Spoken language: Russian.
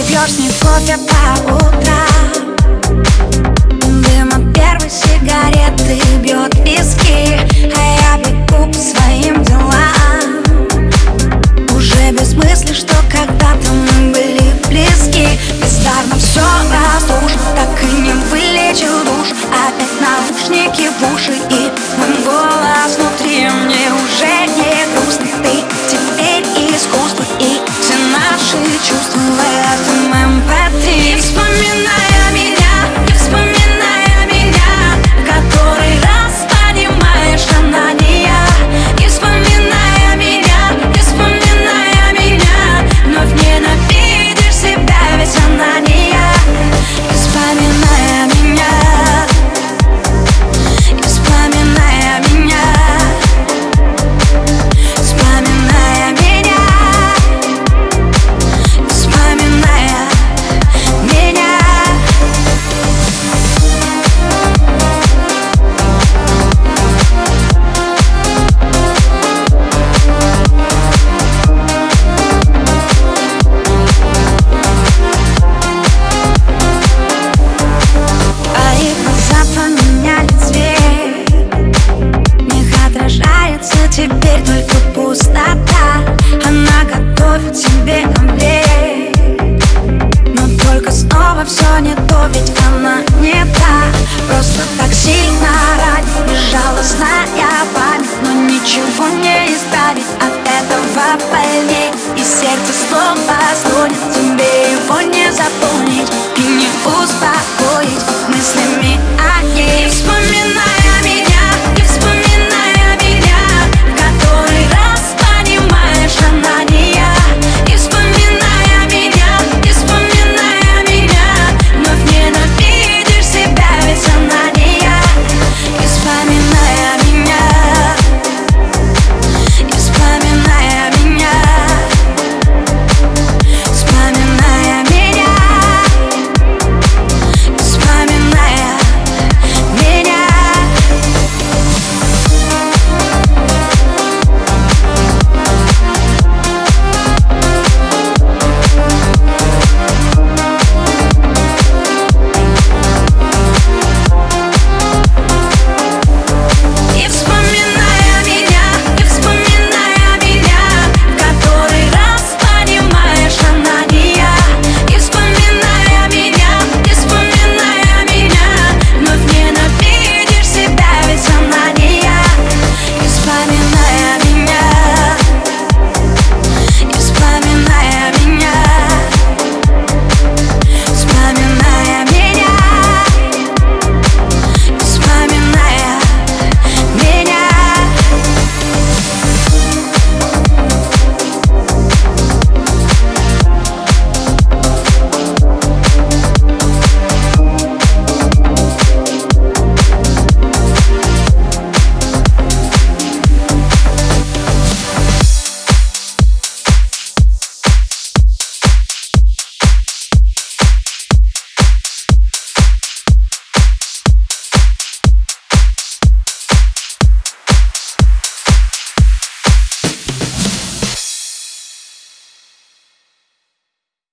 пьешь с ней кофе по утрам, дым от первой сигареты бьет виски, а я бегу по своим делам, уже без мысли, что когда-то мы были близки. Бездарно все разрушил, так и не вылечил душ. Опять наушники в уши и мой голос внутри. Мне уже не грустно, ты теперь искусство и все наши чувства в этом MP3. Не вспоминая меня, не вспоминая меня, в который раз понимаешь, она не я. Не вспоминая меня, не вспоминая меня, вновь ненавидишь себя, ведь она не я. Не вспоминая меня, не вспоминая меня, вспоминая меня, не вспоминая меня. Твои глаза поменяли цвет, в них отражается теперь только пустота. Она готовит тебе омлет, но только снова все не то, ведь она не та. Просто так сильно ранит безжалостная память, но ничего не избавить от этого больней, и сердце снова